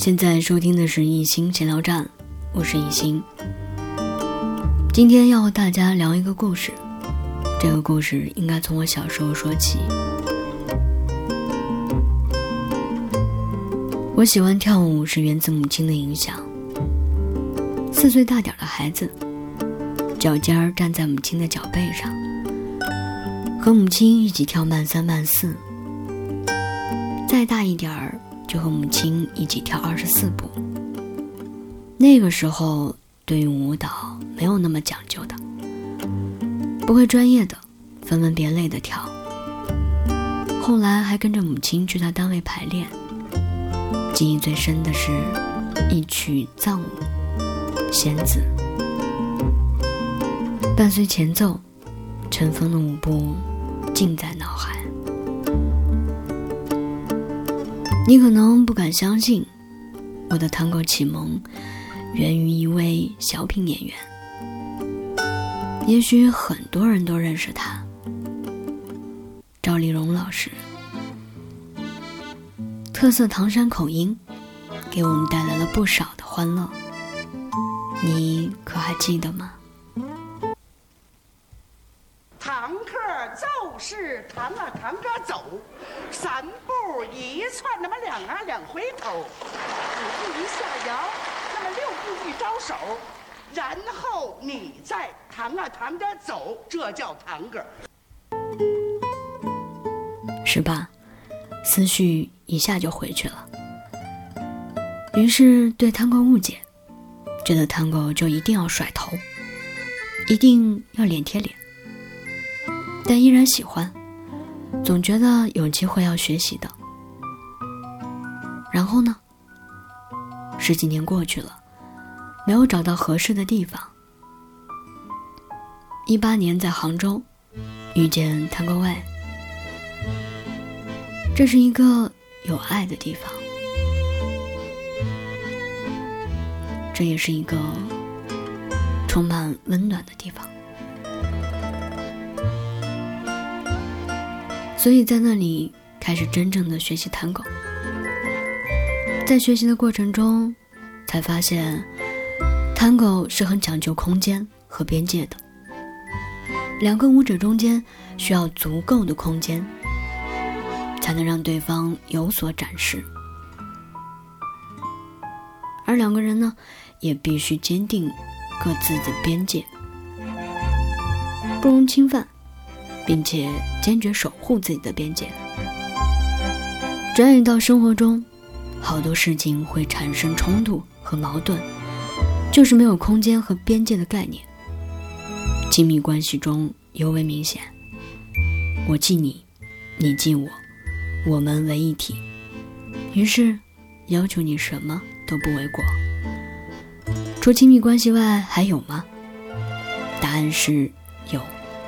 现在收听的是一心闲聊站，我是一心。今天要和大家聊一个故事，这个故事应该从我小时候说起。我喜欢跳舞是源自母亲的影响。4岁大点的孩子，脚尖儿站在母亲的脚背上，和母亲一起跳慢3慢4，再大一点儿就和母亲一起跳24步。那个时候对于舞蹈没有那么讲究的，不会专业的分门别类的跳。后来还跟着母亲去她单位排练，记忆最深的是一曲藏舞《仙子》，伴随前奏，尘封的舞步尽在脑海。你可能不敢相信，我的探戈启蒙源于一位小品演员，也许很多人都认识他，赵丽蓉老师。特色唐山口音给我们带来了不少的欢乐，你可还记得吗？ 堂客就是堂啊堂哥走，3步一窜，那么2啊2回头，5步一下摇，那么6步一招手，然后你再堂啊堂哥走，这叫堂哥， 是吧？思绪一下就回去了。于是对探戈误解，觉得探戈就一定要甩头，一定要脸贴脸，但依然喜欢，总觉得有机会要学习的。然后呢，10几年过去了，没有找到合适的地方。18年在杭州遇见探戈外，这是一个有爱的地方，这也是一个充满温暖的地方。所以在那里开始真正的学习探戈。在学习的过程中才发现，探戈是很讲究空间和边界的，2个舞者中间需要足够的空间，才能让对方有所展示，而2个人呢，也必须坚定各自的边界，不容侵犯，并且坚决守护自己的边界。转眼到生活中，好多事情会产生冲突和矛盾，就是没有空间和边界的概念。亲密关系中尤为明显，我记你，你记我，我们为一体，于是要求你什么都不为过。除亲密关系外还有吗？答案是有。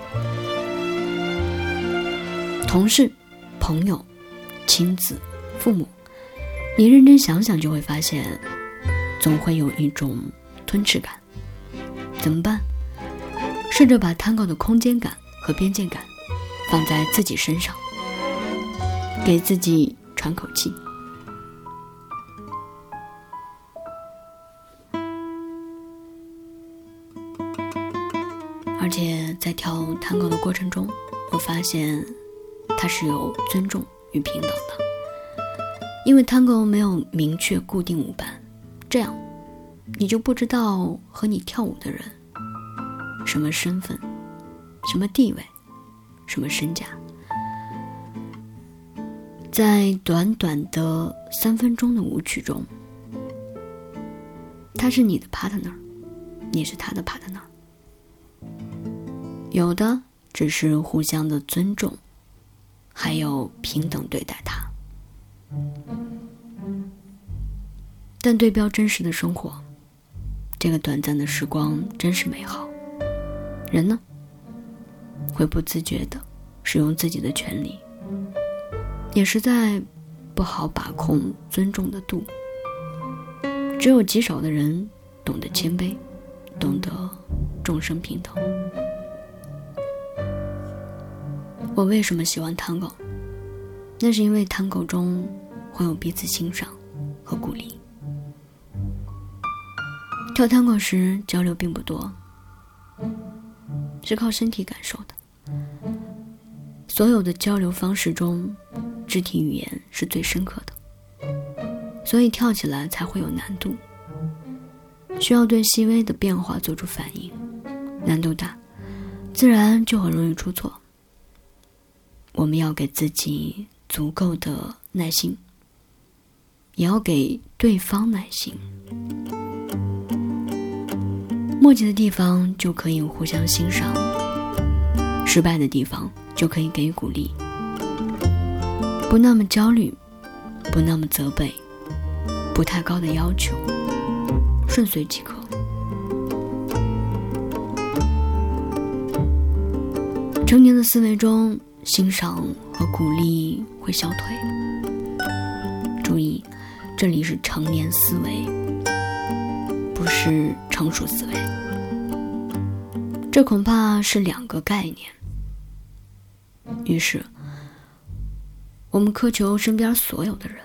同事、朋友、亲子、父母，你认真想想就会发现，总会有一种吞噬感。怎么办？试着把探戈的空间感和边界感放在自己身上，给自己喘口气。而且在跳探戈的过程中，我发现它是有尊重与平等的。因为探戈没有明确固定舞伴，这样你就不知道和你跳舞的人什么身份、什么地位、什么身价。在短短的3分钟的舞曲中，他是你的 partner， 你是他的 partner， 有的只是互相的尊重，还有平等对待他。但对标真实的生活，这个短暂的时光真是美好。人呢，会不自觉地使用自己的权利，也实在不好把控尊重的度。只有极少的人懂得谦卑，懂得众生平等。我为什么喜欢探戈？那是因为探戈中会有彼此欣赏和鼓励。 跳探戈时交流并不多，是靠身体感受的。所有的交流方式中，肢体语言是最深刻的，所以跳起来才会有难度，需要对细微的变化做出反应，难度大，自然就很容易出错。我们要给自己足够的耐心，也要给对方耐心。默契的地方就可以互相欣赏，失败的地方就可以给予鼓励，不那么焦虑，不那么责备，不太高的要求，顺遂即可。成年的思维中，欣赏和鼓励会消退。注意，这里是成年思维，不是成熟思维，这恐怕是两个概念。于是我们苛求身边所有的人，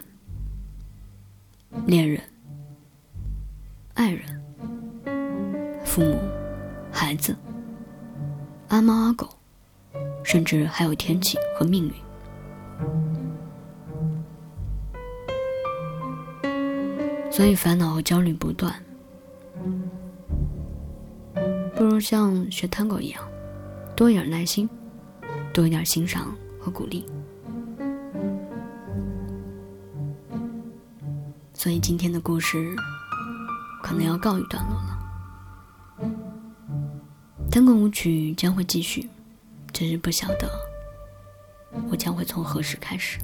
恋人、爱人、父母、孩子、阿猫阿狗，甚至还有天气和命运。所以烦恼和焦虑不断，不如像学探戈一样，多一点耐心，多一点欣赏和鼓励。所以今天的故事可能要告一段落了。探戈舞曲将会继续，只是不晓得我将会从何时开始。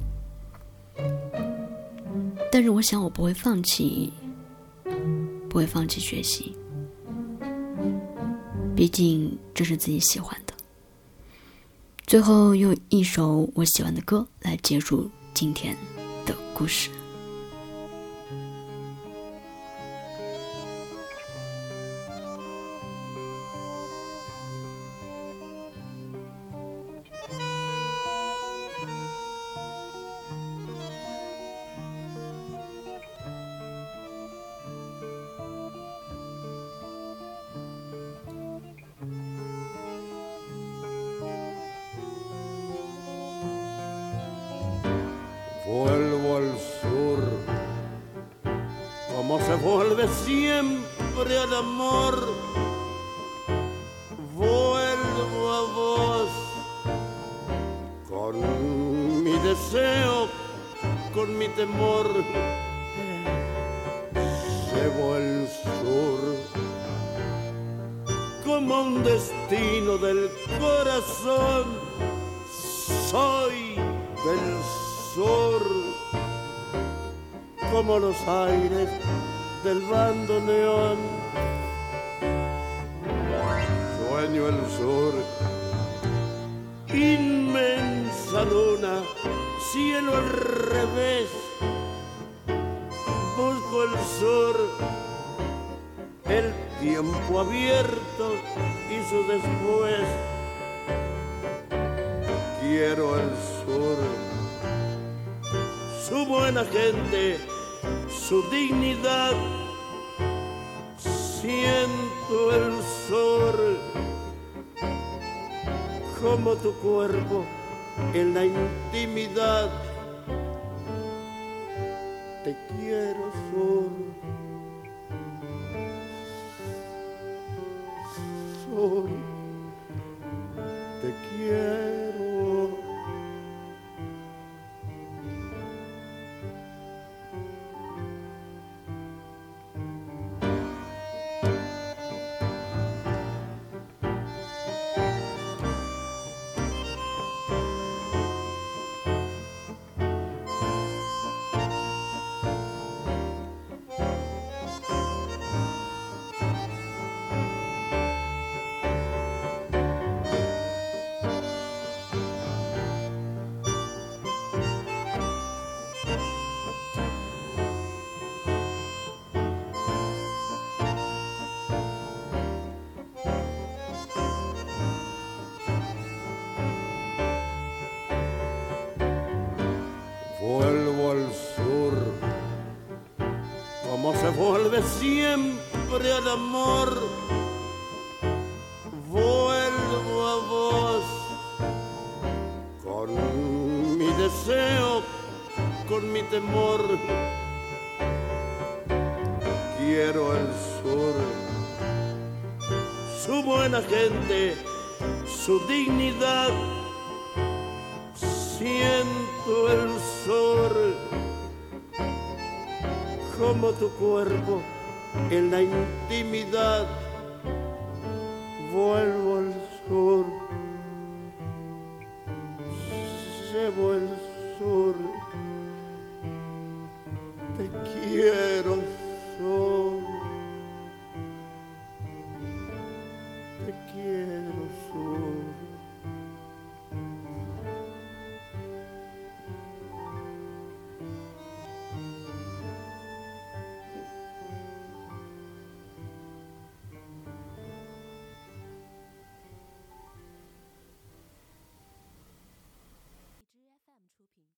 但是我想我不会放弃学习，毕竟这是自己喜欢的。最后用一首我喜欢的歌来结束今天的故事。 Vuelvo al sur, como se vuelve siempre al amor. Vuelvo a vos, con mi deseo, con mi temor. Llevo el sur, como un destino del corazón. Soy del sur, como los aires del bandoneón. Sueño el sur, inmensa luna, cielo al revés. Busco el sur, el tiempo abierto y su después. Quiero el sur, su buena gente, su dignidad. Siento el sur, como tu cuerpo en la intimidad. Te quiero, sur, sur, te quiero. Vuelvo al sur, como se vuelve siempre siempre al amor, vuelvo a vos con mi deseo, con mi temor. Quiero el sur, su buena gente, su dignidad. Siento el sol como tu cuerpo en la intimidad. Vuelvo al sur, llevo el